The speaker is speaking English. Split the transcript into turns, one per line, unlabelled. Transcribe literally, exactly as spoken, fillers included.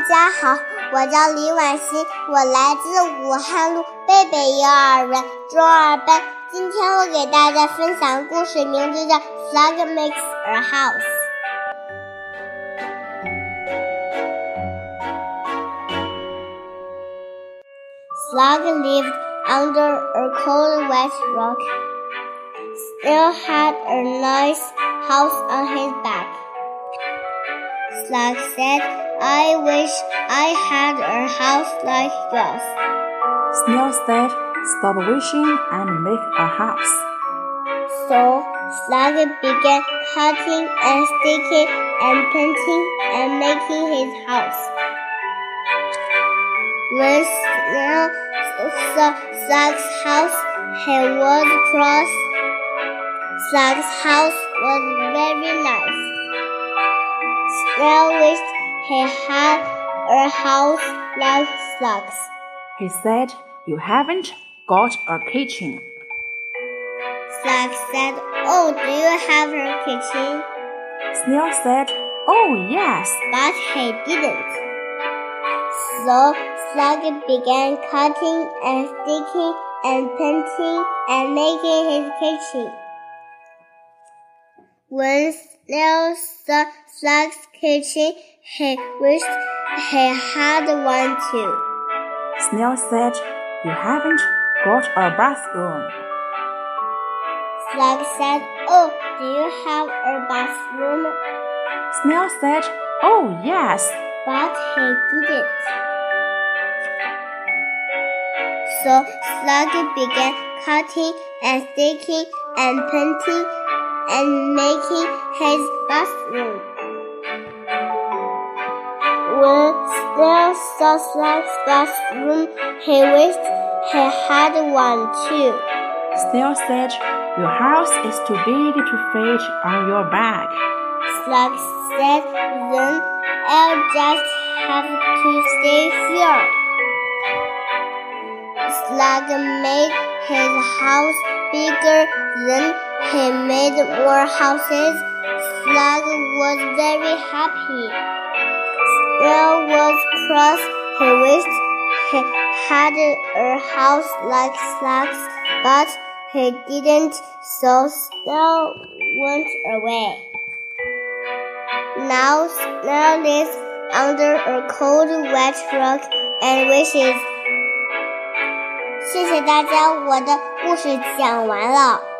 家好，我叫李婉欣，我来自武汉路贝贝幼儿园中二班。今天我给大家分享故事，名字叫 Slug Makes a House。 Slug lived under a cold wet rock. Snail had a nice house on his back. Slug said, I wish I had a house like yours.
Snail said, stop wishing and make a house.
So Slug began cutting and sticking and painting and making his house. When Snail saw Slug's house, he was cross. Slug's house was very nice. Snail wished he had a house like Slug's.
He said, you haven't got a kitchen.
Slug said, oh, do you have a kitchen?
Snail said, oh, yes.
But he didn't. So Slug began cutting and sticking and painting and making his kitchen. When Snail saw Slug's kitchen, he wished he had one too.
Snail said, you haven't got a bathroom.
Slug said, oh, do you have a bathroom?
Snail said, oh, yes.
But he didn't. So Slug began cutting and sticking and painting and making his bathroom. When Snail saw Slug's bathroom, he wished he had one too.
Snail said, your house is too big to fit on your back.
Slug said, then I'll just have to stay here. Slug made his house bigger, then he made more houses. Slug was very happy. Snail was cross. He wished he had a house like Slug's, but he didn't, so Snail went away. Now Snail lives under a cold, wet rock and wishes. 谢谢大家，我的故事讲完了。